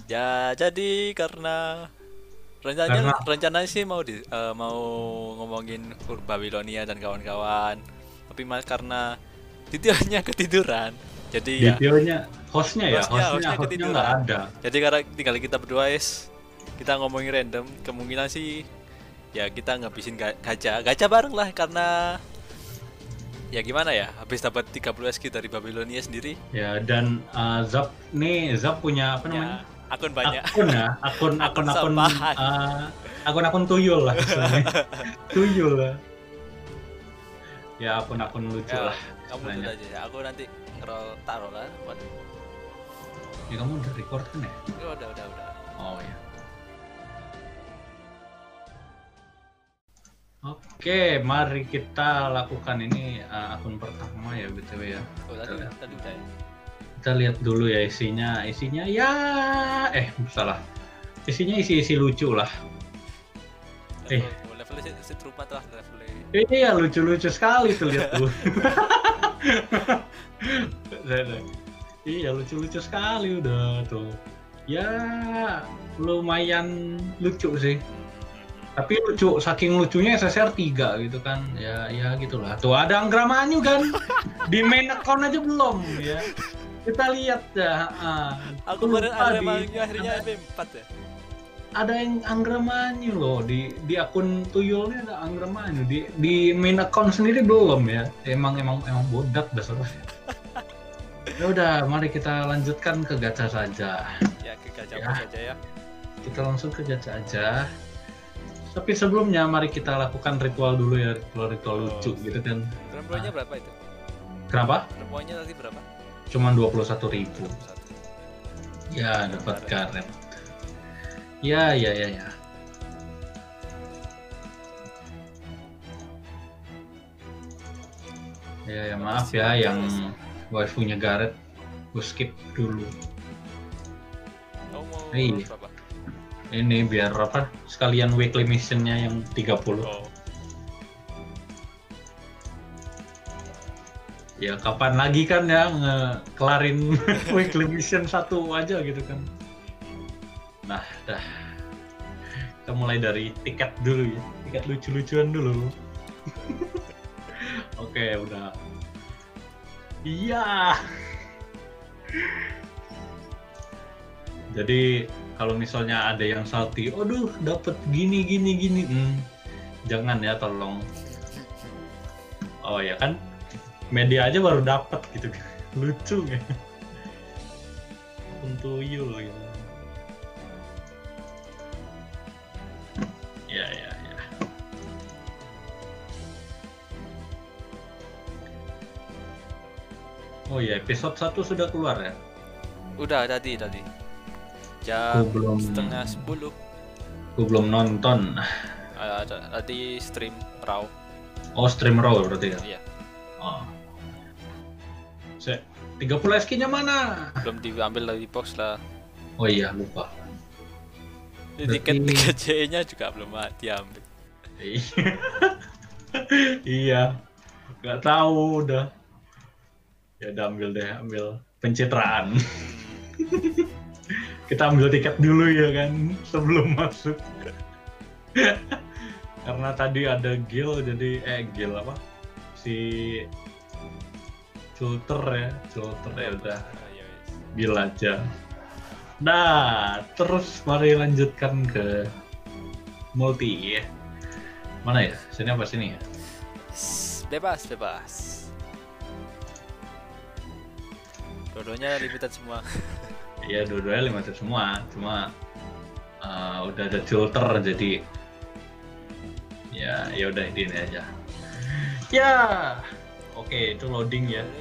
Ya, jadi karena Karena rencananya sih mau ngomongin Babilonia dan kawan-kawan. Tapi karena tidurnya ketiduran. Jadi ya detailnya hostnya ya, hostnya hostnya hostnya hostnya nggak ketiduran. ada. Jadi karena tinggal kita berdua kita ngomongin random. Kemungkinan sih ya kita ngabisin gacha bareng lah karena ya gimana ya habis dapat 30 SQ dari Babilonia sendiri Ya dan Zap punya apa namanya? ya akun banyak. Akun ya, akun akun Akun akun sampahan. akun tuyul lah istilahnya. Tuyul lah. Ya akun-akun lucu Ya lah kamu dulu istilahnya. aja ya, aku nanti taruh lah. Waduh. Ya kamu udah record kan ya? Ya, udah. Oh ya. Oke, mari kita lakukan ini akun pertama ya BTW ya. Oh, tadi udah ya. Kita lihat dulu ya isinya ya salah. Isinya isi lucu lah. Levelnya serupa lah levelnya. Iya lucu-lucu sekali tuh lihat tuh. Iya lucu-lucu sekali udah tuh. Ya lumayan lucu sih. Tapi lucu, saking lucunya SSR 3 gitu kan. Ya gitulah. Tuh ada Anggramanyu kan. Di main account aja belum ya. Kita lihat ya. Aku kemarin akhirnya MP4 ya. Ada yang Anggramanyu loh di akun tuyulnya ada Anggramanyu di main account sendiri belum ya. Emang bodak dasarnya. Ya udah, mari kita lanjutkan ke gacha saja. Ya ke gacha Ya. saja ya. Kita langsung ke gacha aja. Tapi sebelumnya mari kita lakukan ritual dulu ya, ritual lucu gitu kan. Rempoinnya berapa itu? Kenapa? Rempoinnya tadi berapa? Cuman 21.000. Ya, dapat karet. Ya. Ya maaf ya yang waifunya Gareth, gue skip dulu. Kamu mau Iya. berapa? Ini biar apa? Sekalian weekly missionnya yang 30. Oh. Ya kapan lagi kan ya ngekelarin weekly mission 1 aja gitu kan. Nah, dah. Kita mulai dari tiket dulu ya. Tiket lucu-lucuan dulu. Oke, udah. Iya. Jadi kalau misalnya ada yang salty, aduh dapat gini. Jangan ya tolong. Oh ya kan, media aja baru dapat gitu. Lucu ya. Untuk Yul gitu. Ya. Oh ya, episode 1 sudah keluar ya? Udah tadi. Jam belum. 9:30. Gue belum nonton. Tadi stream raw. Oh, stream raw berarti ya? Iya. Oh. 30 SK-nya mana? Belum diambil dari box lah. Oh iya, lupa. Tiket C-nya juga belum diambil. Iya. Gak tahu udah. Ya udah ambil pencitraan. Kita ambil tiket dulu ya kan sebelum masuk. Karena tadi ada Gil jadi Gil apa? Si Culter ya udah. Gil aja. Nah, terus mari lanjutkan ke multi ya. Mana ya? Sini apa sini ya? Bebas. Dua-duanya limited semua. Iya, dua-duanya limited semua. Cuma udah ada filter jadi ya udah ini aja. Ya. Oke, itu loading ya.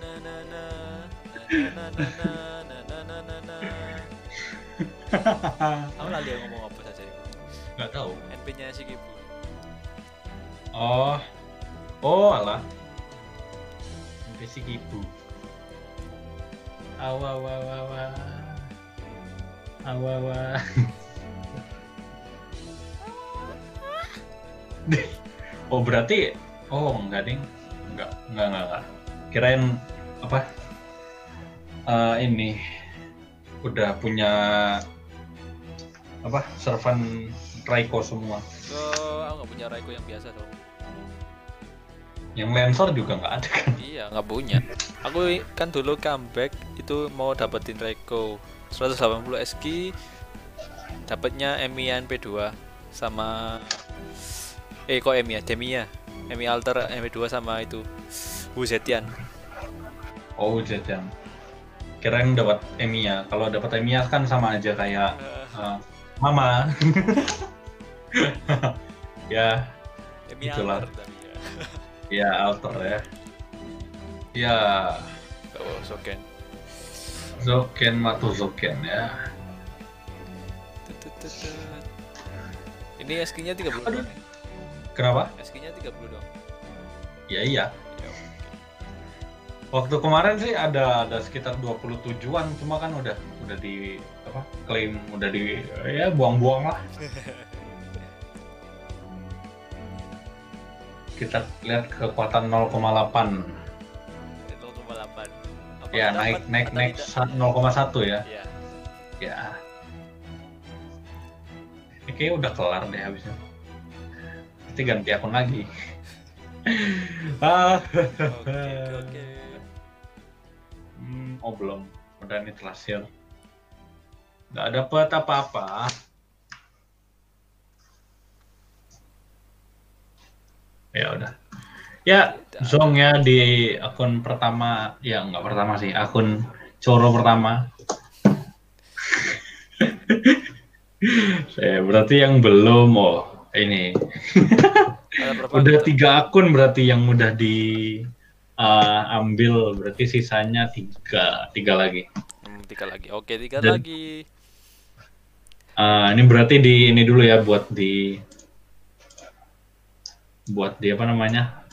Kamu lagi ngomong apa saja? Nggak tahu. NP-nya si Kibu. Oh alah. NP si Kibu. Awa. Oh berarti enggak ding. Enggak. Kirain apa? Ini udah punya apa servan Raiko semua. Oh, aku nggak punya Raiko yang biasa dong. Yang Lancer juga nggak ada kan? Iya, nggak punya. Aku kan dulu comeback itu mau dapetin Raiko 180 SG, dapatnya Emiya NP2 sama kok Emiya, Demiya, Emi Alter NP2 sama itu Wuzetian. Oh jajan. Kirain dapat Emiya. Kalau dapat Emiya kan sama aja kayak Mama. Ya, Emi itulah. Alter tapi ya. Ya alter ya. Ya, Oh, Soken. Zoken Matu Zoken ya. Ini SG-nya 30 Aduh. doang. Kenapa? SG-nya 30 doang. Ya iya. Ya, Waktu kemarin sih ada sekitar 27-an, cuma kan udah di apa? Klaim udah di ya buang-buang lah. Kita lihat kekuatan 0,8. 0,8. Ya naik 0,1 ya. Iya. Ya. Ini kayaknya udah kelar deh habisnya. Nanti ganti akun lagi. Oke. Oh belum. Udah nih terakhir. Nggak dapet apa-apa. Ya udah. Ya, Zong ya di akun pertama, ya nggak pertama sih, akun Coro pertama. Berarti yang belum, ini. Udah 3 akun berarti yang udah diambil, berarti sisanya 3 lagi. 3 lagi. Oke, 3 lagi. Ini berarti ini dulu ya buat di apa namanya?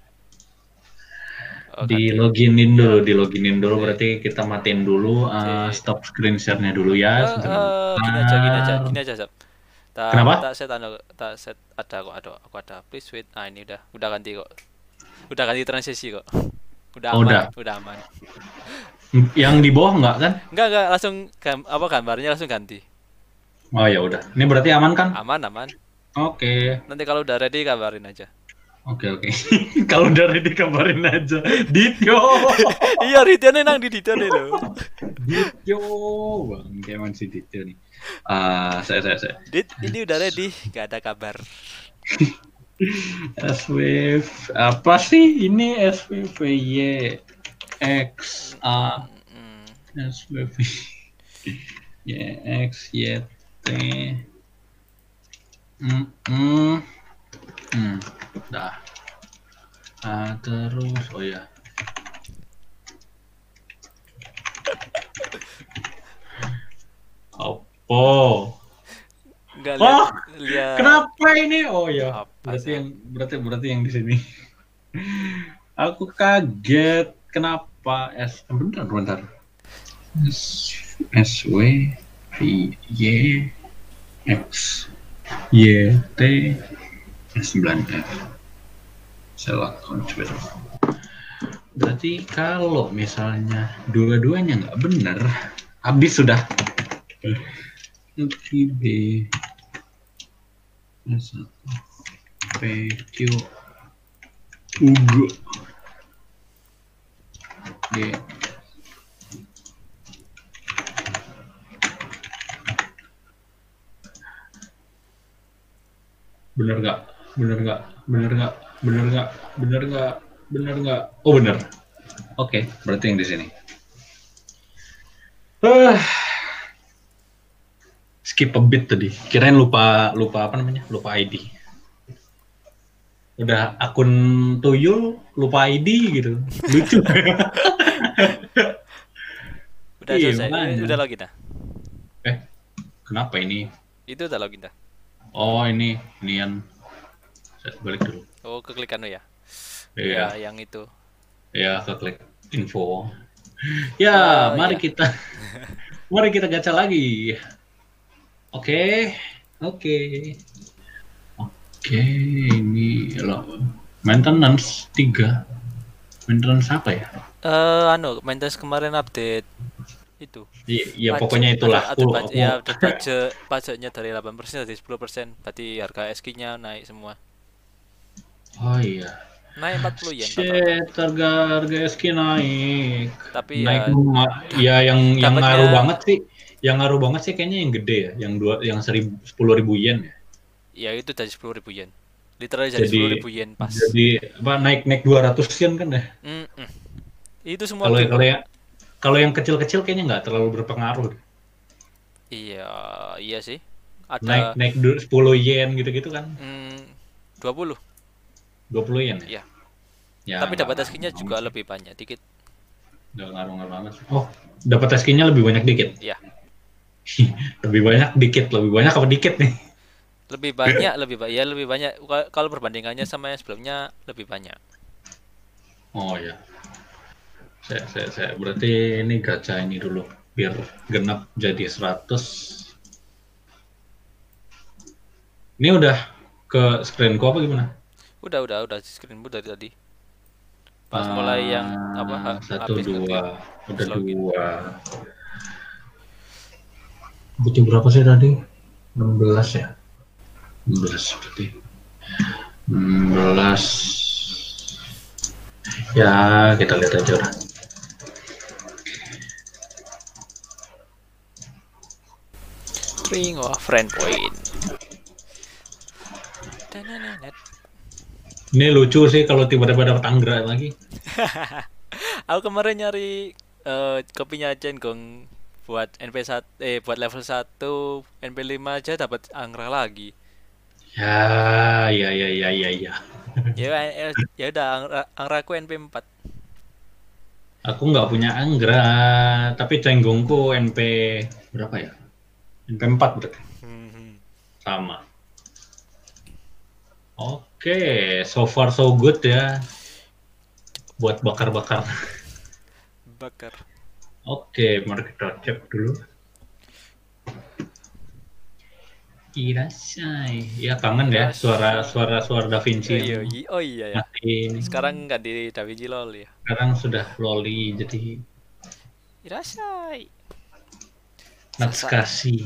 Di loginin dulu, berarti kita matiin dulu, stop screen share-nya dulu ya. Gini aja, Zap. Kenapa? Tak set ada aku ada. Please wait. Ah, ini udah ganti kok. Udah ganti transisi kok. Udah aman, udah aman. Yang di bawah enggak kan? Enggak, langsung gambarnya langsung ganti. Oh ya udah. Ini berarti aman kan? Aman. Oke. Nanti kalau udah ready kabarin aja. Oke. Kalau udah ready kabarin aja. Dityo. Iya, Dityo nih nang di Dityo nih lo. Dityo, bang, kayak si Dityo nih. Saya. Dit, ini udah ready, gak ada kabar. SWV apa sih ini SWVY X A SWV YX YT dah. Terus ya. Apa? Enggak lihat. Kenapa ini? Oh ya. Apa Berarti yang di sini. Aku kaget. Kenapa bentar. SW Y X Y T S9F. Select control. Berarti kalau misalnya dua-duanya nggak benar, habis sudah. B S1 PQ Ugo D bener nggak? Oh bener. Oke, berarti yang di sini. Skip a bit tadi. Kirain lupa apa namanya? Lupa ID. Udah akun tuyul, lupa ID gitu. Lucu. Udah selesai. Udah login dah. Kenapa ini? Itu udah login dah. Oh, inian. Saya balik dulu. Oh, keklikan lo ya? Iya. Ya, yang itu. Ya, keklik info. Ya, mari kita gacha lagi. Oke, ini loh. Maintenance 3. Maintenance apa ya? Maintenance kemarin update itu. Iya, pokoknya itulah. Ada pajak, ya ada pajaknya dari 8% dari 10%. Berarti harga SK-nya naik semua. Oh iya. Naik 40 yen totalnya. Shit, harga harga SK naik. Tapi Naik ya ya yang ngaruh dapatnya banget sih. Yang ngaruh banget sih kayaknya yang gede ya, yang 10.000 yen ya. ya itu dari 10.000 yen. Literally dari Jadi 10.000 yen pas. jadi apa naik naik 200 yen kan ya. Mm-mm. Itu semua Kalau beli. kalau yang kecil-kecil kayaknya nggak terlalu berpengaruh. Iya, iya sih. Naik Ada naik 10 yen gitu-gitu kan. 20. 20 yen ya. Ya. Ya Tapi nggak dapat ngaruh SK-nya banget juga sih. lebih banyak dikit. Nggak ngaruh-ngaruh banget sih. Oh, dapat SK-nya lebih banyak dikit. Ya, Lebih banyak dikit, lebih banyak apa dikit nih? lebih banyak, ya lebih banyak. Kalau perbandingannya sama yang sebelumnya lebih banyak. Oh ya. Saya berarti ini gacha ini dulu biar genap jadi 100. Ini udah ke screenku apa gimana? Udah di screenmu dari tadi. Pas mulai yang apa Satu habis dua, nge-create udah habis login. dua. Butuh berapa sih tadi? 16 ya? 16 berarti. 16. Ya, kita lihat aja udah. Ring of friend point. Danananet. Ini lucu sih kalau tiba-tiba dapat anggra lagi. Aku kemarin nyari kopinya Cenggong buat NP1 buat level 1 NP5 aja dapat anggra lagi. Ya, ya, ya, ya, ya, ya. Ya udah angraku NP4. Aku nggak punya anggra, tapi cenggungku NP berapa ya? NP 4 berarti. Sama. Oke, so far so good ya. Buat bakar-bakar. Bakar. Oke, mari kita cek dulu. Irasai. Ya kangen ya suara Da Vinci yang Oh iya ya. masih Sekarang nggak di DaVinci LOL ya. sekarang sudah loli jadi Irasai. Natsukashi.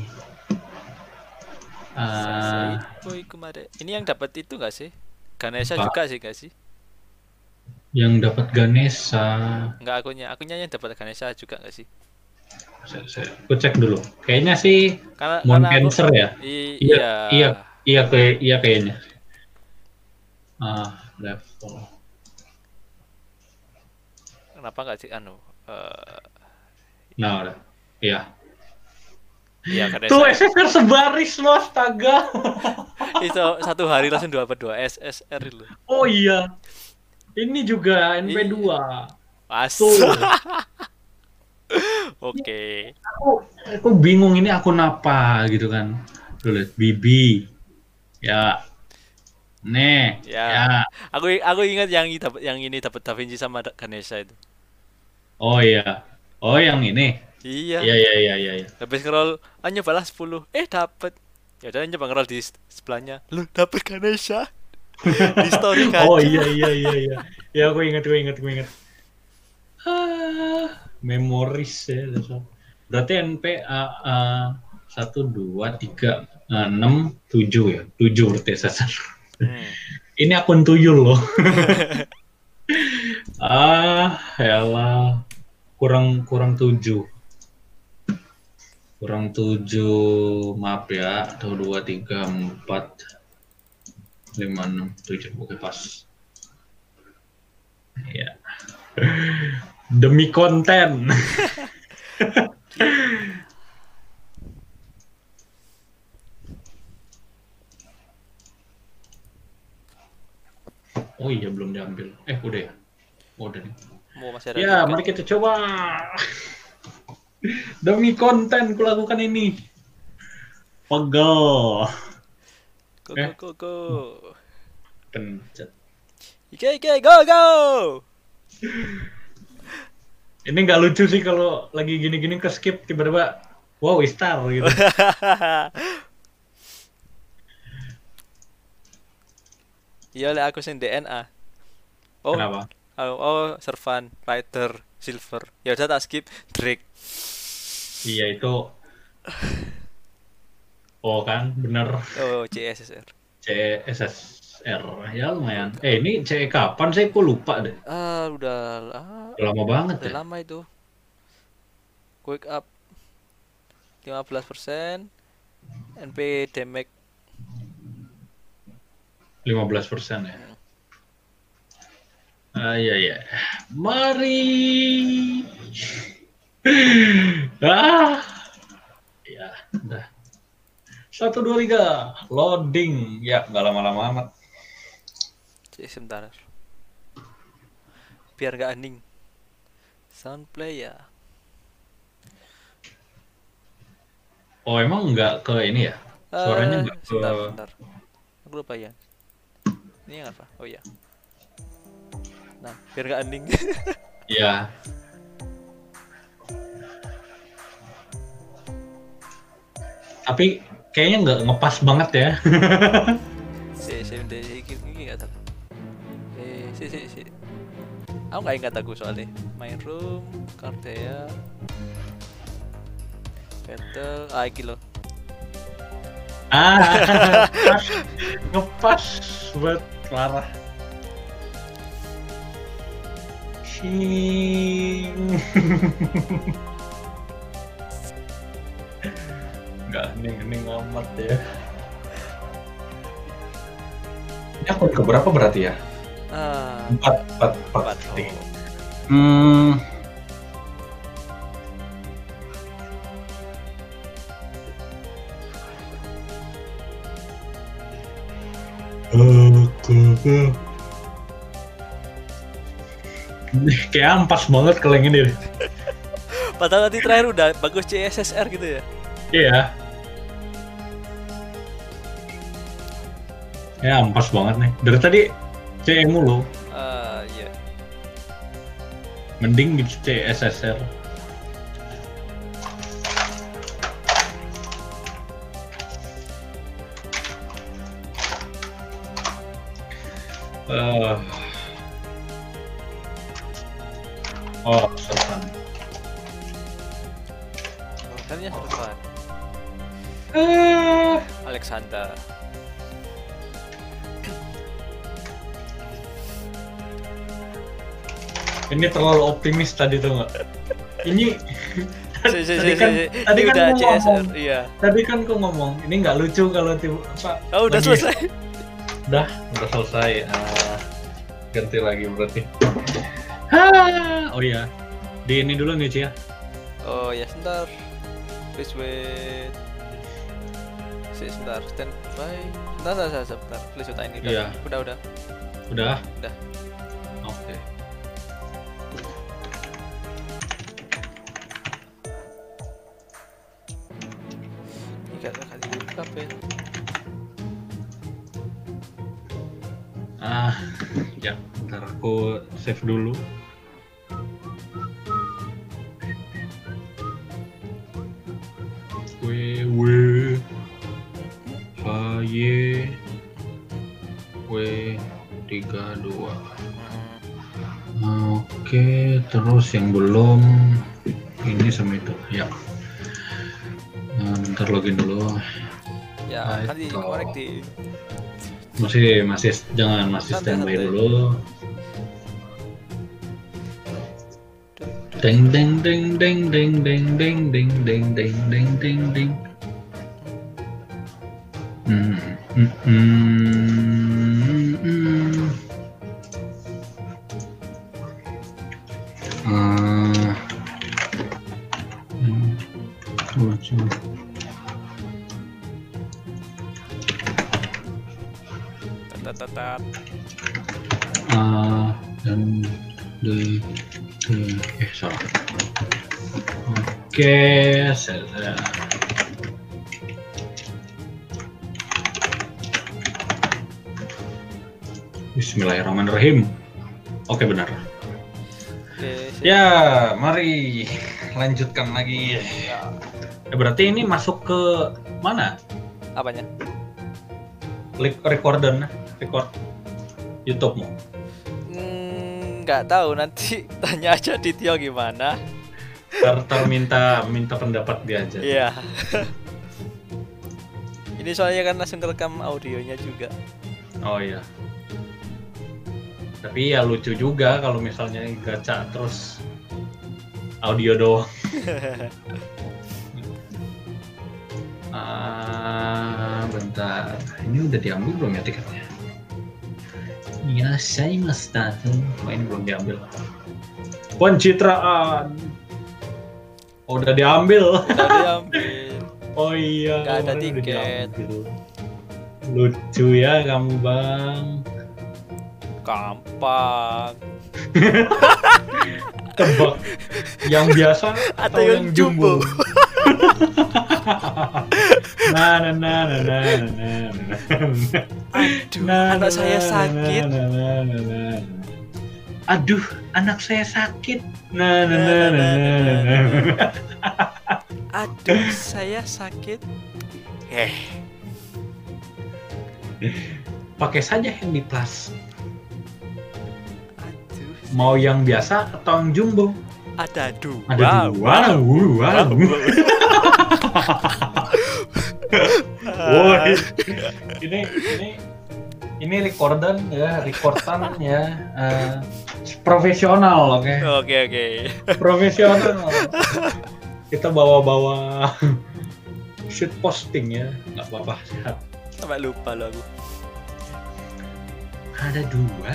Sasai boy kemarin. Ini yang dapat itu nggak sih? Ganesha Pak, juga sih nggak sih? yang dapat Ganesha. Nggak akunya yang dapat Ganesha juga nggak sih? Aku cek dulu. Kayaknya sih Moon Karena aku Cancer ya. Iya, iya. iya, iya kayaknya. Level. Kenapa nggak sih Nah, udah. Iya. iya Tuh Ganesha. SSR sebaris loh, astaga. Itu satu hari langsung dapat 2 SSR loh. Oh iya. Ini juga NP2. Pas. Tuh. Oke. Aku bingung ini akun apa gitu kan. Tuh lihat Bibi. Ya. Nih, Ya. ya. Aku ingat yang ini dapat Da Vinci sama Ganesha itu. Oh iya. Oh yang ini. Iya. Iya, iya, iya, iya, iya. Habis scroll, nyobalah 10. Dapat. Ya udah nyoba scroll di sebelahnya. Lu dapat Ganesha. Di story Oh gacha. iya, iya, iya, iya. Ya aku ingat. Memoris ya. Berarti NP 1, 2, 3, 6, 7 ya. 7 berarti SSR. Ini akun tuyul loh. Elah. Kurang 7. Kurang 7, maaf ya. 1, 2, 3, 4, 5, 6, 7. Oke, pas. Ya. Demi konten. Oh iya, belum diambil. Udah ya? Udah nih. Masih ada Ya, tiket. mari kita coba. Demi konten kulakukan ini. Pegel. Go. Pencet. Ike, go. Ini nggak lucu sih kalau lagi gini-gini ke skip tiba-tiba wow Istar gitu. Iya oleh aku sing DNA. Kenapa? Servan, Rider, Silver. Ya udah tak skip Drake. Iya itu. Oh kan, bener. Oh, CSSR. CSSR ya lumayan. Quick Up. Ini CE kapan saya kok lupa deh. Udah lama banget udah ya. lama itu. Quick Up 15%, NP damage 15% ya. Iya iya. Mari. Ah, ya, udah. 1 2 3 loading. Ya, nggak lama-lama amat. sebentar. Biar gak hening. Sound play ya. Oh, emang nggak ke ini ya? Suaranya nggak ke. Sebentar. Aku lupa ya. Ini yang apa? Oh iya. Nah, biar gak hening. Iya. Tapi kayaknya nggak ngepas banget ya. Bentar, ini gak salah. Si. Aku gak ingat aku soalnya. Main room, Cardea, battle, iki loh. Pas, ngepas buat parah. Shing. Nggak hening-hening amat ya. Ini akun keberapa berarti ya? 4. Oh. Kayak ampas banget kalau yang ini. Padahal nanti terakhir udah bagus CSSR gitu ya. Iya. Ya ampas banget nih. Dari tadi CE mulu. Iya. Mending di CSSR. Oh, selesai. Makanya selesai. Alexander. Ini terlalu optimis tadi tuh nggak? Ini tadi Ini kan udah gua CSR, ngomong, iya. tadi kan gua ngomong ini nggak lucu kalau Oh, udah selesai. udah selesai. Ganti lagi berarti. Oh iya, di ini dulu nih Cia. Oh ya, sebentar. Please wait. Sebentar, stand by. Sebentar. Please wait, ini Iya. udah. Udah. Udah. Oke. Ini gak dibuka, Ben. Ya, ntar aku save dulu. W32. Oke, terus yang belum ini sama itu ya. Bentar login dulu. Ya, kan di korek di masih jangan masih standby dulu. Deng deng deng deng deng deng deng deng deng deng deng deng deng. Dan salah. Oke, saya. Bismillahirrahmanirrahim. Oke, benar. Ya, mari lanjutkan lagi. Ya, berarti ini masuk ke mana? Apanya? Record YouTube-mu. Nggak tahu, nanti tanya aja Dityo gimana. Ntar minta pendapat dia aja. Iya. Ini soalnya kan langsung kerekam audionya juga. Oh iya. Tapi ya lucu juga kalau misalnya gacha terus audio doang. Bentar. Ini udah diambil belum ya tiketnya? Ya, saya masta. Oh, ini belum diambil. Pencitraan. Oh, udah diambil. Udah diambil. Oh iya. Nggak ada kemarin udah tiket. diambil. Lucu ya kamu, Bang. Gampang. Tebak. Yang biasa Atau yang jumbo. Nah. Aduh, anak saya sakit. Aduh, anak saya sakit. Aduh, saya sakit. Pakai saja Handy Plus. Aduh. Mau yang biasa atau yang jumbo? Ada dua. Ada dua. Wow. Woi, ini recordan ya, profesional, oke? Oke. Profesional. Kita bawa shoot posting ya, nggak apa-apa, sehat. Sampai lupa lo aku. Ada dua.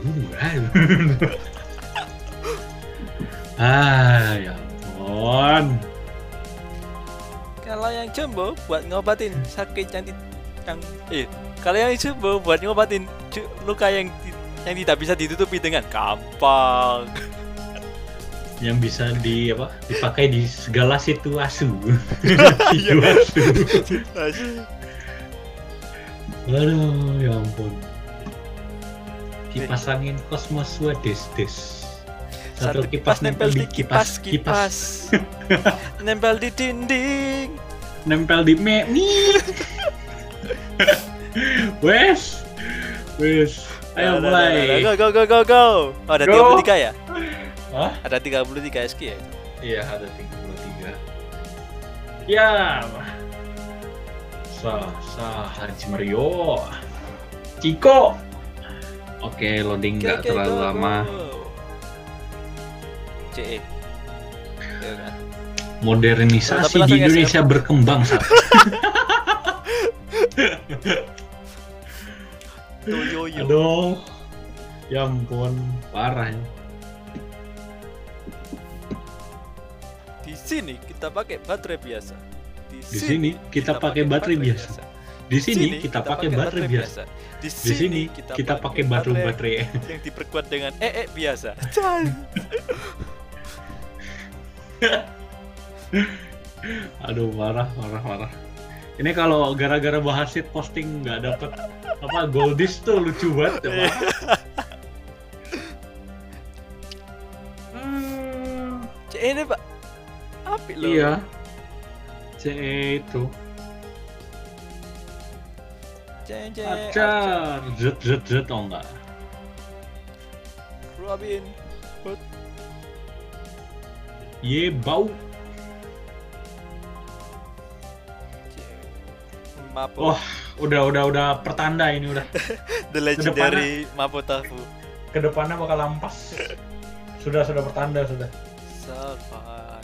Ya ampun. Kalau yang jumbo buat ngobatin sakit kalau yang jumbo buat ngobatin luka yang tidak bisa ditutupi dengan gampang. Yang bisa dipakai di segala situasi. Aduh, ya ampun. Kipas angin kosmos des. Satu kipas nempel di kipas. Nempel di dinding. Nempel di mie. Wes. Ayo mulai. Go. Oh, ada 33 ya? Hah? Ada 33 SQ ya? Iya, ada 33. Ya. Haji Mario. Ciko. Oke, loading nggak terlalu lama. CE. Ya kan? Modernisasi di Indonesia berkembang saat. Yo. Aduh, ya ampun, parah ya. Di sini kita pakai baterai biasa. Di sini kita pakai baterai biasa. Di sini kita pakai baterai biasa. Di sini kita pakai baterai yang diperkuat dengan biasa. Aduh, marah. Ini kalau gara-gara bahas shit posting nggak dapet Goldis tuh lucu banget ya, Pak. Ini Pak, api loh. Iya, CE itu. Acar, zet, oh enggak. Robin Hood. Ye, bau. Mapo. Wah, udah pertanda ini udah. The legendary Mapo Tafu. Kedepannya bakal lampas. Sudah pertanda sudah. Salvan.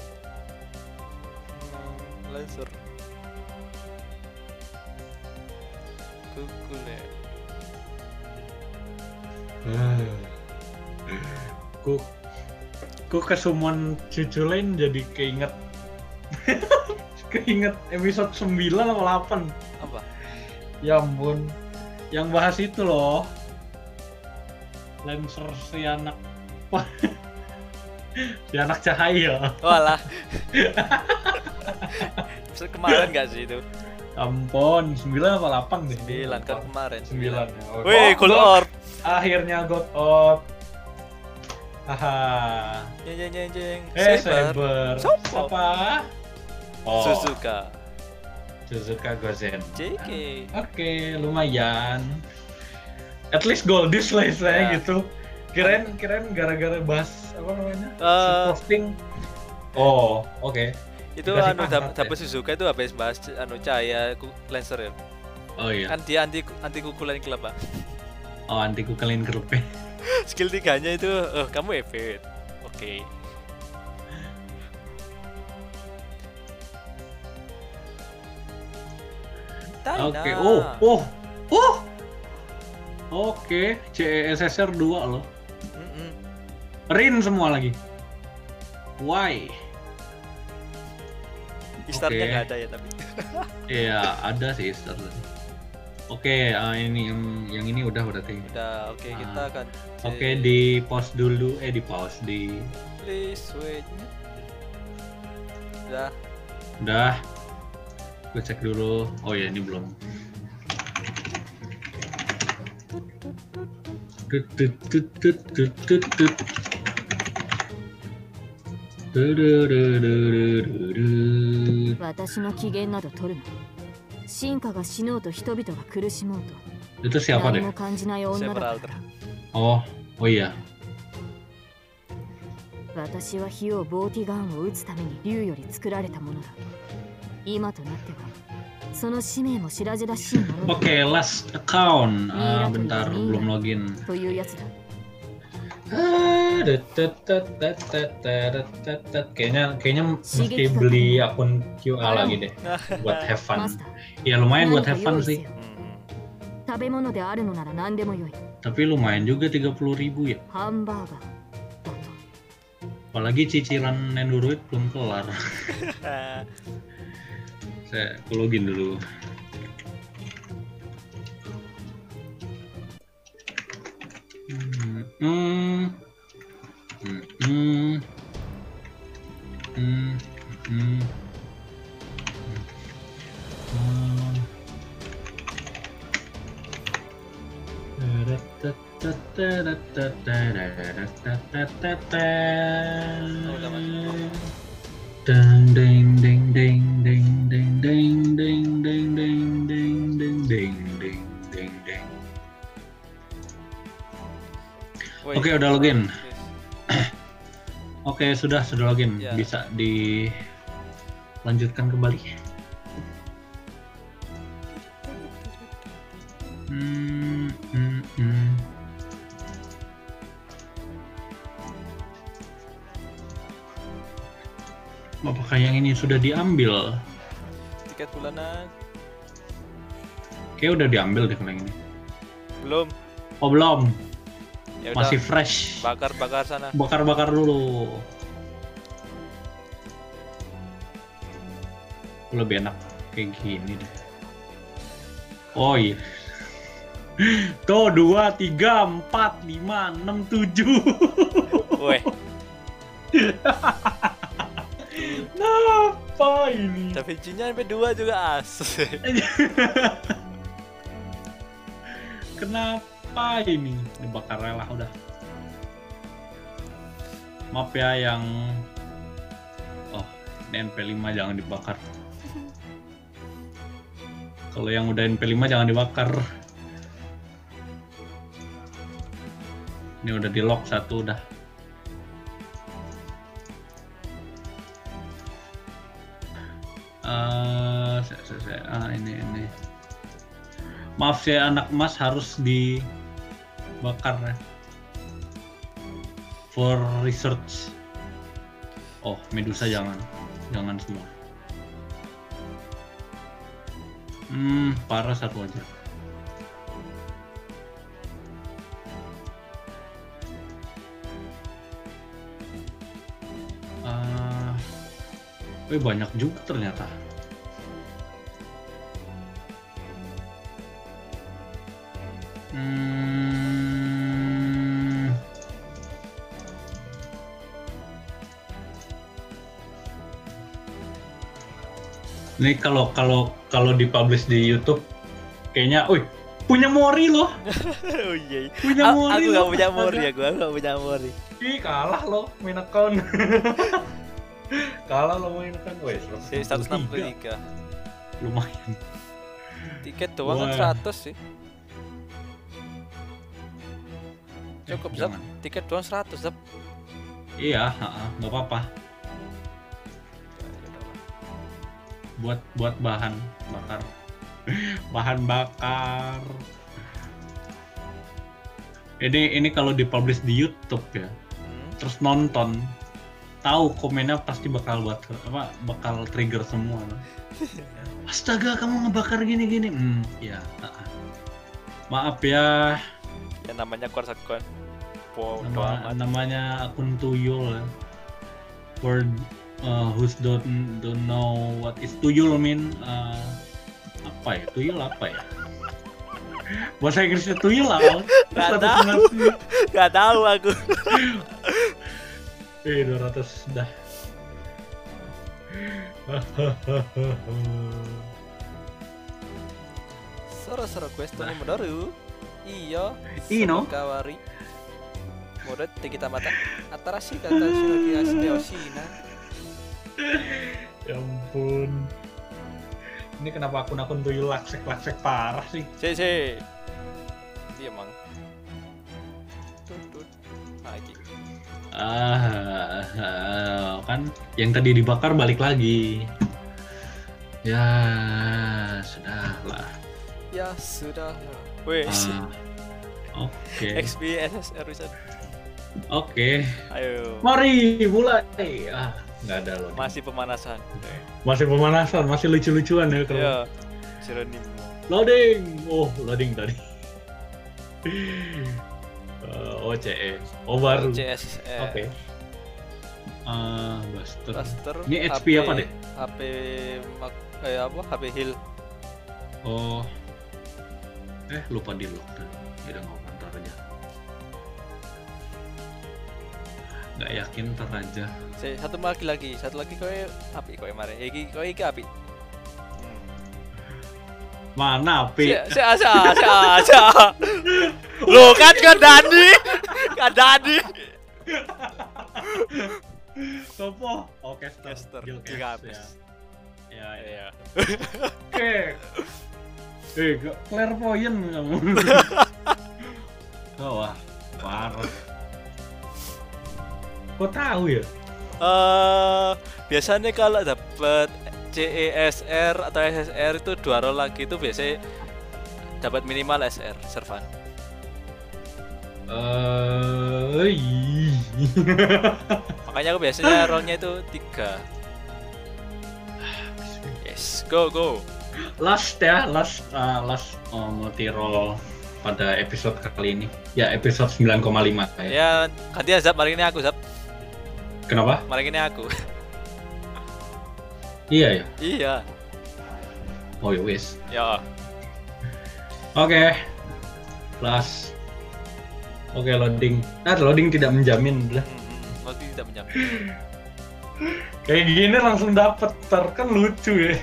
Laser. Kukulet. Ku kesumun cucu lain jadi keinget episode 9 atau 8. Apa? Ya ampun, yang bahas itu loh, Lancer si anak cahaya. Walah. Kemarin nggak sih itu? Ampun, 9 atau 8 deh. 9 kan kemarin. 9. Wih, Gold Orb. Akhirnya Gold Orb. Haha. Jeng. Saber. Apa? Oh. Suzuka Gozen. JK. Oke, lumayan. At least Goldis lah istilahnya gitu. Kirain gara-gara bahas apa namanya? Posting Oh, oke. Itu Dikasih anu pangkat ya? dapat Suzuka itu habis bahas anu cahaya Lancer ya. Oh iya. Kan dia anti kukulan klub, Pak. Oh, anti kukelin kerupe. Skill 3-nya itu, oh kamu evade. Oke. Taina. Oke. Oh. Oke, CESSR 2 loh. Mm-mm. Rin semua lagi. Why? Istarnya Oke. nggak ada ya tapi. Iya, ada sih Star. Oke, ini yang ini udah berarti. Udah, oke kita akan. Oke, di pause dulu. Di pause di. Please wait. Udah. Udah. Gue cek dulu. Oh ya, ini belum. Tut, tut, tut, tut, tut, tut, tut. Du-du-du-du-du-du-du. 私の機嫌など取るな。進化が死のうと人々が苦しもう Itu と siapa 何 deh? も感じない女だから Several. Oh iya. 私は火をボーティガンを撃つために竜より作られたものだ。今となってはその使命も白々しいものだ Oke, last account. Bentar, belum login. というやつだ。 Kayaknya mesti beli akun QA lagi deh buat have マ fun. スター、 Ya lumayan 何 buat か have 用 fun 意せ sih. よ。 Hmm. 食べ物であるのなら何でもよい。 Tapi lumayan juga 30.000 ya. ハンバーガーだと。 Apalagi cicilan Nendoroid belum kelar. Saya login dulu. Ding ding ding ding ding ding ding ding ding ding ding ding ding ding ding ding. Wait. Oke, udah login. Oke, sudah login. Ya. Bisa dilanjutkan kembali. Apakah yang ini sudah diambil? Tiket bulanan Kayak udah diambil deh kalau yang ini. belum. Oh belum, Ya udah. masih fresh. Bakar sana. Bakar-bakar dulu. Lebih enak kayak gini deh. Oh iya. Tuh 2, 3, 4, 5, 6, 7. Weh, Apa ini? Da Vinci-nya sampai 2 juga as. Kenapa ini? Dibakar lah udah. Maaf ya yang ini NP5 jangan dibakar. Kalau yang udah NP5 jangan dibakar. Ini udah di lock satu udah. Ini. Maaf ya anak emas harus dibakar ya. For research. Oh, Medusa jangan semua. Parah satu aja. Banyak juga ternyata. Ini kalau dipublish di YouTube kayaknya, punya Mori loh. Oh iya. Punya Mori. Aku loh. nggak punya Mori ya, gua nggak punya Mori. Ih, kalah loh main account. Kalah lo main account. Wes, 163. Lumayan. Tiket doang kan Wah. 100 sih. Cukup Zap. Jangan. Tiket doang 100 Zap. Iya, nggak apa-apa. buat bahan bakar. Bahan bakar. Ini kalau dipublish di YouTube ya. Terus nonton, tahu komennya pasti bakal trigger semua. Astaga, kamu ngebakar gini-gini. Ya. Maaf ya. Ya namanya Korsakon. Namanya akun tuyul. For who's don't know what is tuyul mean, apa ya? Tuyul apa ya? Bahasa Inggrisnya tuyul apa? Gak tahu aku. 200 dah. Soro questo ni modoru. Iyo. Ino. Kawari. Modet kita mata. Atarashi kata shinogi asli oshina. Ya ampun. Ini kenapa akun-akun tuyul laksek parah sih? Si. Dia emang. Tut. Lagi. Kan yang tadi dibakar balik lagi. Ya, sudahlah. Ya sudah. Weh. Oke. XP SSR Wizard. Oke. Ayo. Mari mulai. Nggak ada loh. Masih pemanasan. Masih lucu-lucuan ya kalau. Iya. Jeronim. Loading. Oh, loading tadi. OCE. Oh, baru. CSR. Oke. Buster. Ini HP apa deh? HP HP Hill. Oh. Lupa di lock tadi. Udah nggak ntar aja. Nggak yakin ntar aja. Satu lagi kowe api kowe mare. Iki api. Mana api? Asa. Loh kan Dani. Sopo? Oh, caster. Tiga habis. Ya. Oke. Clairvoyant kamu. Wah, parah. Kok tahu ya? Biasanya kalau dapat CESR atau SSR itu 2 roll lagi itu biasanya dapat minimal SR Servan. Makanya aku biasanya rollnya itu 3. Yes, go. Last multi roll pada episode kali ini. Ya, episode 9,5 kayak. Ya, gantian Zap, mari ini aku Zap. Kenapa? Mari ini aku. Iya ya. Iya. Oh ya wis. Ya. Oke. Plus. Oke, loading. Loading tidak menjamin lah. Loading tidak menjamin. Kayak gini langsung dapet, kan lucu ya.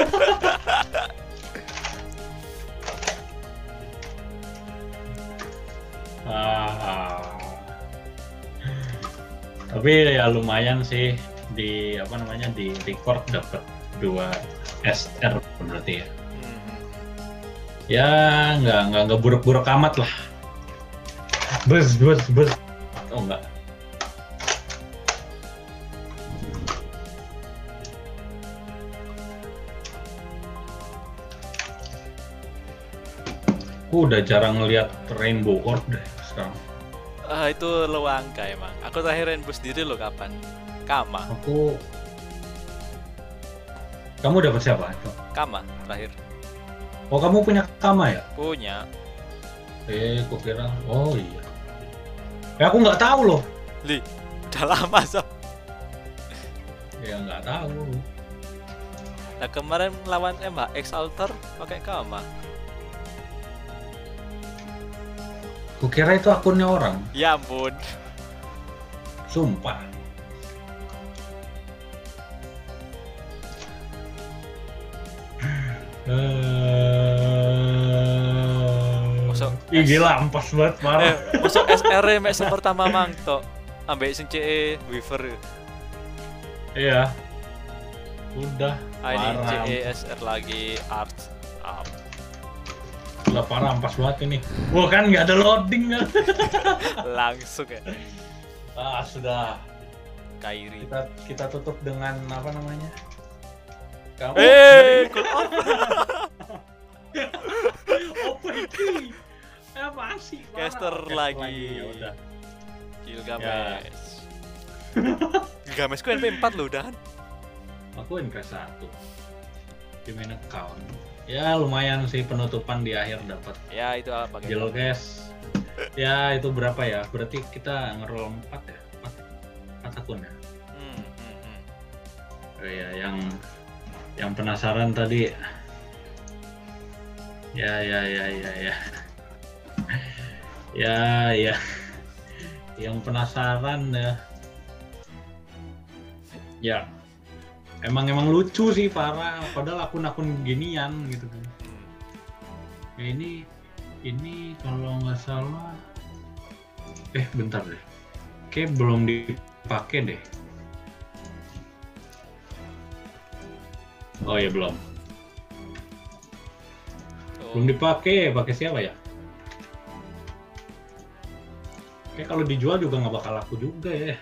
Tapi ya lumayan sih di record dapat 2 SR berarti ya. Ya nggak buruk-buruk amat lah. Bus. Oh enggak. Aku udah jarang ngeliat Rainbow Orb deh sekarang. Itu lo angka emang. Aku terakhir Rainbow sendiri lo kapan? Kama. Kamu dapat siapa? Kama terakhir. Oh, kamu punya Kama ya? Punya. Aku kira. Oh iya. Aku nggak tahu loh. Udah lama Sob. Ya nggak tahu. Nah kemarin lawan MHX Alter pakai Kama. Kukira itu akunnya orang. Ya ampun. Sumpah. Ih gila, ampas banget parah. Masuk SR mek pertama mang tok. Ambek sing CE Weaver. Iya. Udah. Ini CE SR lagi art up. Gila parah, ampas banget ini. Wah kan nggak ada loading kan. Langsung ya. Sudah. Kairi. Kita tutup dengan apa namanya? Kamu Cool off. apa ini? Apa sih? Parah. Caster Caster lagi. Ya udah. Gilgamesh. Gilgamesh ku NP 4 loh udahan. Aku NK 1 di main account. Ya lumayan sih penutupan di akhir dapat Ya itu apa gitu. Geocache. Ya itu berapa ya? Berarti kita ngeroll 4 ya? 4 akun ya? Oh iya, yang penasaran tadi. Ya. Ya. Yang penasaran ya. Ya. Emang lucu sih parah, padahal akun-akun ginian gitu kan. Ya, ini kalau nggak salah, bentar deh, kayak belum dipakai deh. Oh ya belum dipakai. Pakai siapa ya? Kayak kalau dijual juga nggak bakal laku juga ya.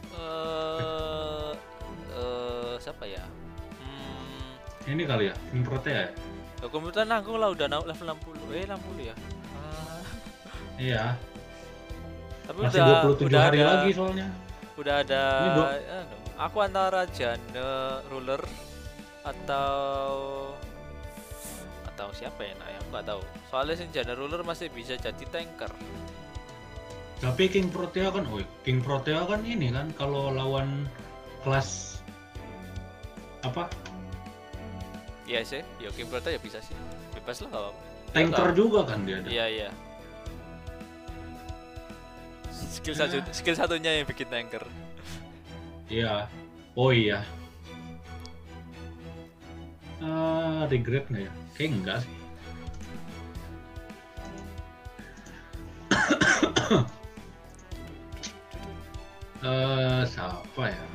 Siapa ya? Ini kali ya, Improtea ya? Komputer nanggung lah udah level 60. 60 ya? Iya. Tapi Masih udah 27 hari ada, lagi soalnya. Udah ada. Aku antara Jane Ruler atau siapa ya? Nah, aku nggak tahu. Soalnya si Jane Ruler masih bisa jadi tanker. Tapi King Protea kan ini kan kalau lawan kelas apa? Iya sih, ya King Protea ya bisa sih. Bebas lah. Tanker juga kan dia ada. Iya. Skill satunya yang bikin tanker. Iya. Oh iya. Regret nggak ya? Kayak enggak sih. Siapa ya?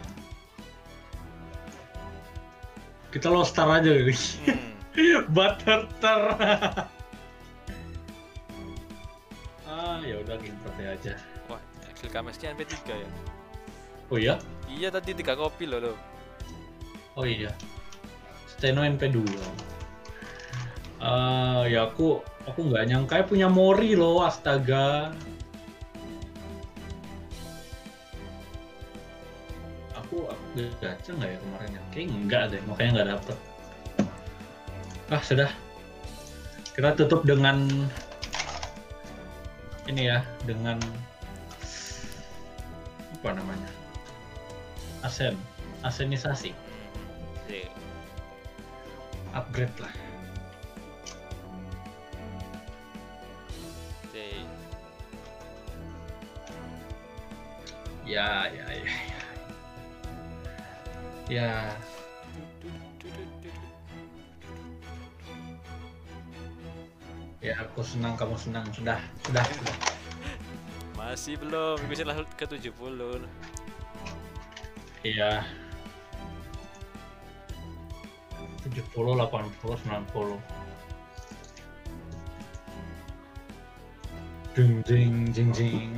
Kita lost star aja gitu. Butterter. Ya udah King Protea aja. Wah, Gilgamesh-nya NP3 ya. Oh iya? Iya tadi 3 kopi loh. Oh iya. Steno NP2. Ya aku nggak nyangka punya Mori loh, astaga. Aku gacha nggak ya kemarin ya? Kayaknya enggak deh, makanya nggak dapet. Sudah. Kita tutup dengan ini ya, dengan apa namanya? Asenisasi. Upgrade lah. Ya. Ya aku senang, kamu senang. Sudah. Masih belum, minggu lalu ke 70. Iya. 70, 80, 90. Jing.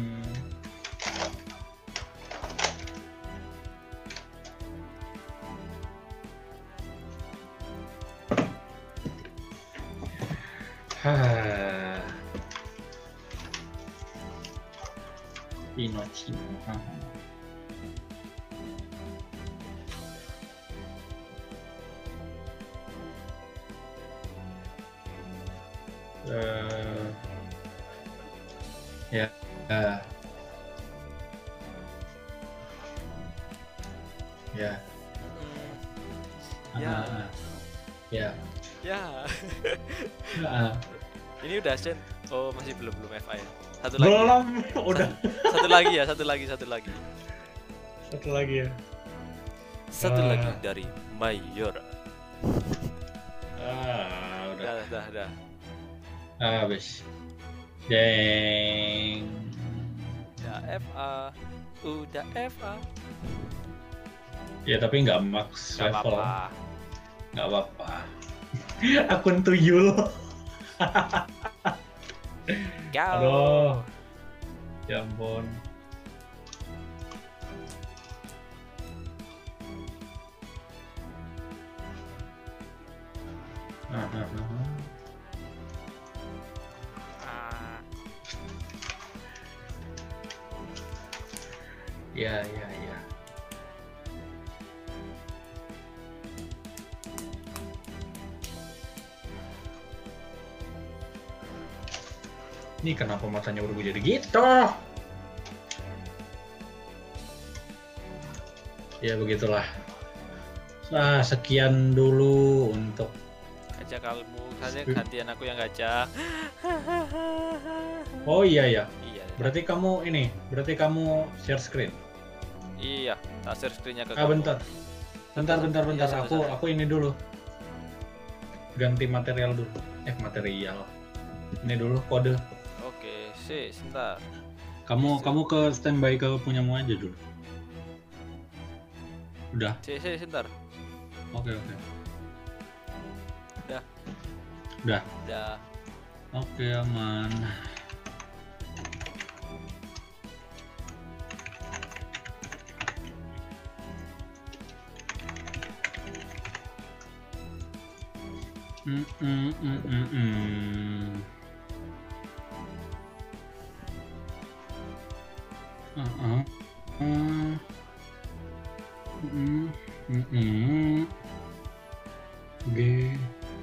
Pinocchio. Ini udah Sen. Oh, masih belum FA ya. Satu Udah. Satu lagi ya. Satu lagi ya. Satu lagi dari Mayora. Udah. Habis. Deng. Udah FA. Ya tapi nggak max level. Nggak apa-apa. Akun tuyul. Aduh. Ya ampun. Ya, ya, ya. Ini kenapa matanya berubah jadi gitu? Ya begitulah. Nah, sekian dulu untuk Gacha kalmu, gantian aku yang gacha. Oh iya ya. Iya. Berarti kamu share screen. Iya, tak share screen-nya ke Ah, kamu. bentar. Bentar. Iya, Aku ini dulu. Ganti material dulu. Material. Ini dulu kode. Oke, sebentar. Kamu ke standby ke punyamu aja dulu. Udah. Sebentar. Oke. Udah. Udah. Oke, aman. G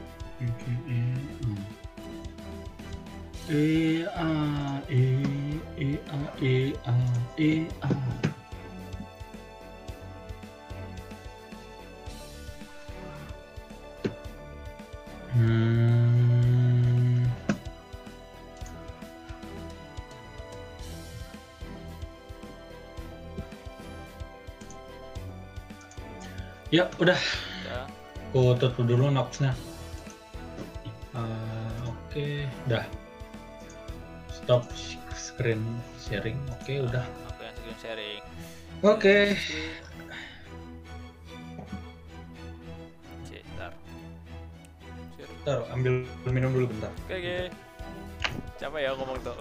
E A E A. Ya udah. Udah. Aku tutup dulu Nox-nya. Oke, udah. Stop screen sharing. Oke, udah. Aku yang screen sharing. Oke. Bentar. Bentar, ambil minum dulu bentar. Oke. Capek ya ngomong tuh.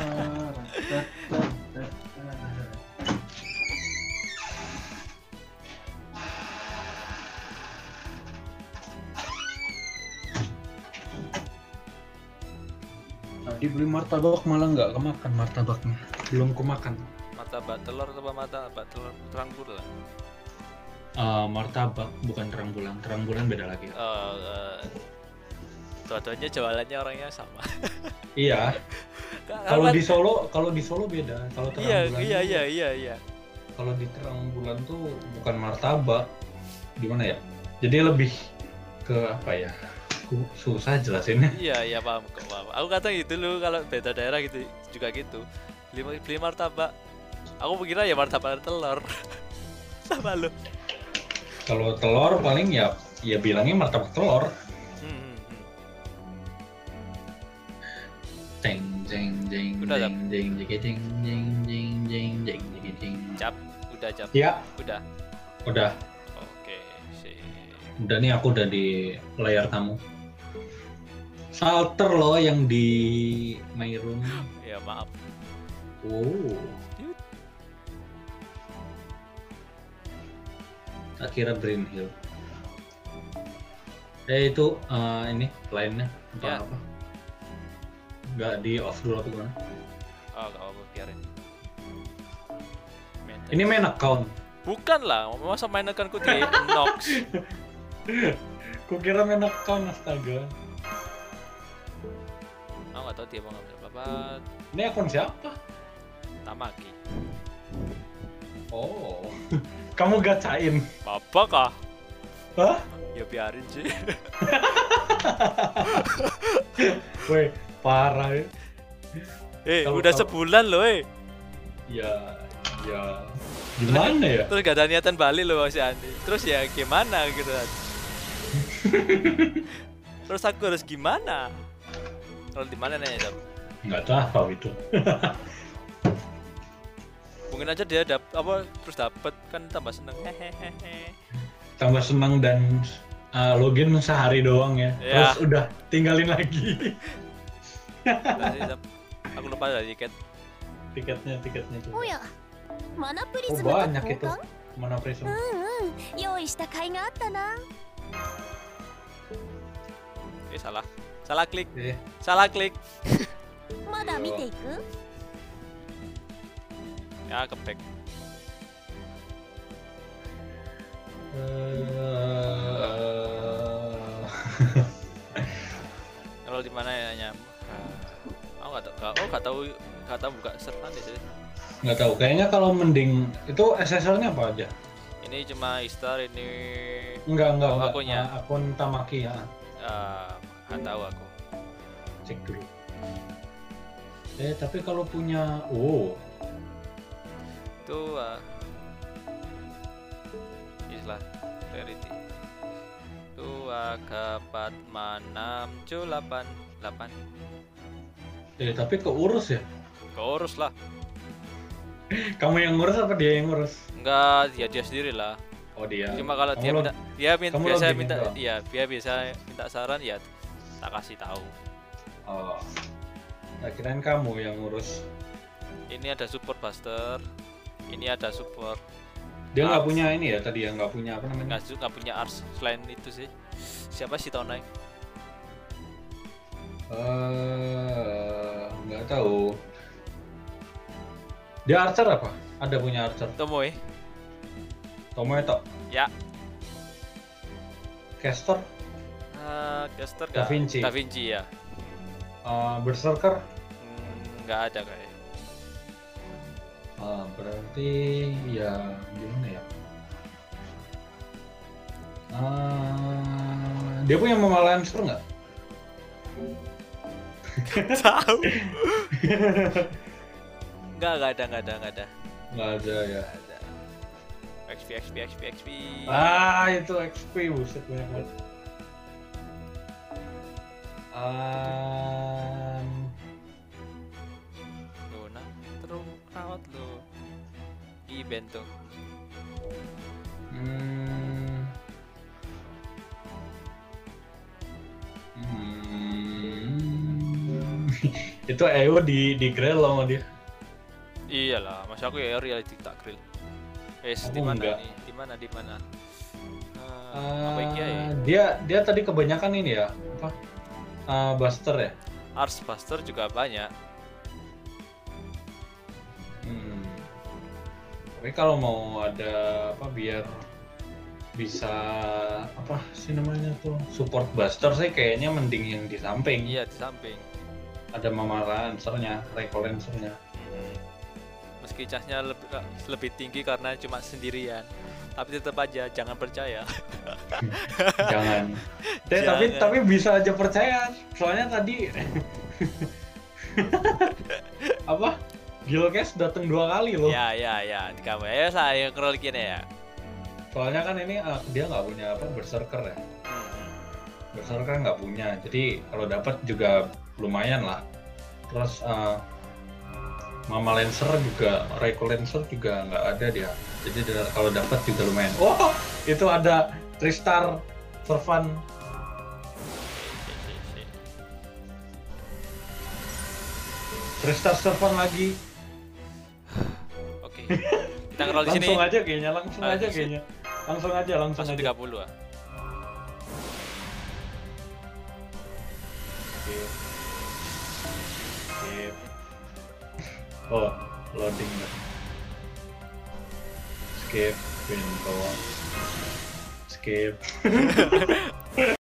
Tadi beli martabak malah nggak kemakan martabaknya. Belum kemakan. Martabak telur atau martabak telur terang bulan? Martabak bukan terang bulan. Terang bulan beda lagi. Dua-duanya jualannya orangnya sama. Iya. Kalau di Solo beda. Kalau terang bulan. Iya. Kalau di terang bulan tuh bukan martabak. Gimana ya? Jadi lebih ke apa ya? Susah jelasinnya. Iya paham. Aku kata gitu loh, kalau beda daerah gitu juga gitu. Beli martabak. Aku mengira ya martabak telur. Sama lo. Kalau telur paling ya bilangnya martabak telur. Jeng. Udah, Cap. Udah, Cap. Ya. Udah. Oke, sih. Udah nih, aku udah di layar kamu. Salter loh yang di my room. Ya maaf. Oh. Tak kira Green Hill. Itu ini lainnya apa? Nggak di off dulu atau gimana? Oh, nggak apa-apa, biarin. Ini main account. Bukan lah, masa main accountku di Nox. Kukira main account, astaga. Aku nggak tahu dia mau ngambil apa. Ini akun siapa? Tamaki. Oh, kamu gacain? Apa kah? Hah? Ya biarin sih. Weh, parah ya. Udah sebulan loh, Ya. Gimana ya? Terus gak ada niatan balik loh si Andi. Terus ya gimana gitu kan? Terus aku harus gimana? Kalau di mana nih, Dap? Nggak tahu itu. Mungkin aja dia terus dapet kan tambah seneng. Hehehe. Tambah senang dan login sehari doang ya. Ya. Terus udah tinggalin lagi. Nah, sih, Dap. Aku lupa ada tiket. Tiketnya juga. おやマナプリ Oh ズムと banyak 交 itu. 換 Mana prism? 用意した甲斐があったな salah. Salah klik. Eh, Salah klik. まだ見ていく Ya, keback. Kalau di mana ya nyam? Aku nggak tahu buka server di sini. nggak tahu. Kayaknya kalau mending itu SSL-nya apa aja? Ini cuma Istar, ini Enggak. Akunnya. Akun Tamaki ya. nggak tahu aku. Cek dulu. Tapi kalau punya, Itu istilah rarity. Itu kepat manam cu 8. tapi keurus ya? Keurus lah. Kamu yang ngurus apa dia yang ngurus? Enggak, dia sendiri lah. Oh dia. Cuma kalau dia Kamu biasa login minta, doang? iya, dia bisa minta saran ya tak kasih tahu. Oh. Nah, kirain kamu yang ngurus. Ini ada support buster. Ini ada support. Dia nggak Ars. punya ini ya tadi ya, nggak punya apa namanya? Nggak punya ars selain itu sih. Siapa sih tahun naik? Nggak tahu. Dia archer apa? Ada punya archer. Tomoe. Tomoe tok. Ya. Caster, Caster Da Vinci. Da Vinci ya. Berserker. Nggak ada kayak. Berarti ya gimana ya? Dia punya Mama Lancer nggak? Tahu. Nggak ada. Nggak ada ya. Nggak ada. XP. Itu XP, buset banyak banget. Luna terus rawat lo. Event tuh. Itu EO di grill loh sama dia. Iyalah, masa aku ya reality tak grill. Aku Di mana enggak. nih? Di mana? Apa iki ya? Dia tadi kebanyakan ini ya, apa? Buster ya. Ars Buster juga banyak. Tapi kalau mau ada apa biar bisa apa sih namanya tuh support Buster sih kayaknya mending yang di samping. Iya, di samping. Ada Mama Lancer-nya, Rifle Lancer-nya. Meski casnya lebih tinggi karena cuma sendirian. Tapi tetap aja jangan percaya. Jangan. Jangan. Tapi bisa aja percaya. Soalnya tadi apa? Gilcast datang 2 kali loh. Ya, di kamu ya saya scrollin ya. Soalnya kan ini dia nggak punya apa Berserker ya. Berserker nggak punya. Jadi kalau dapat juga lumayan lah. Terus Mama Lancer juga, Reiko Lancer juga nggak ada dia. Jadi kalau dapat juga lumayan. Oh, itu ada Tristar Servan. Tristar Servan lagi. Oke. Kita scroll di sini. Langsung aja kayaknya, langsung Ah, aja di kayaknya. Langsung aja. Masuk 30 ah. Skip. Oh, loading dah. Skip, pintu. Skip.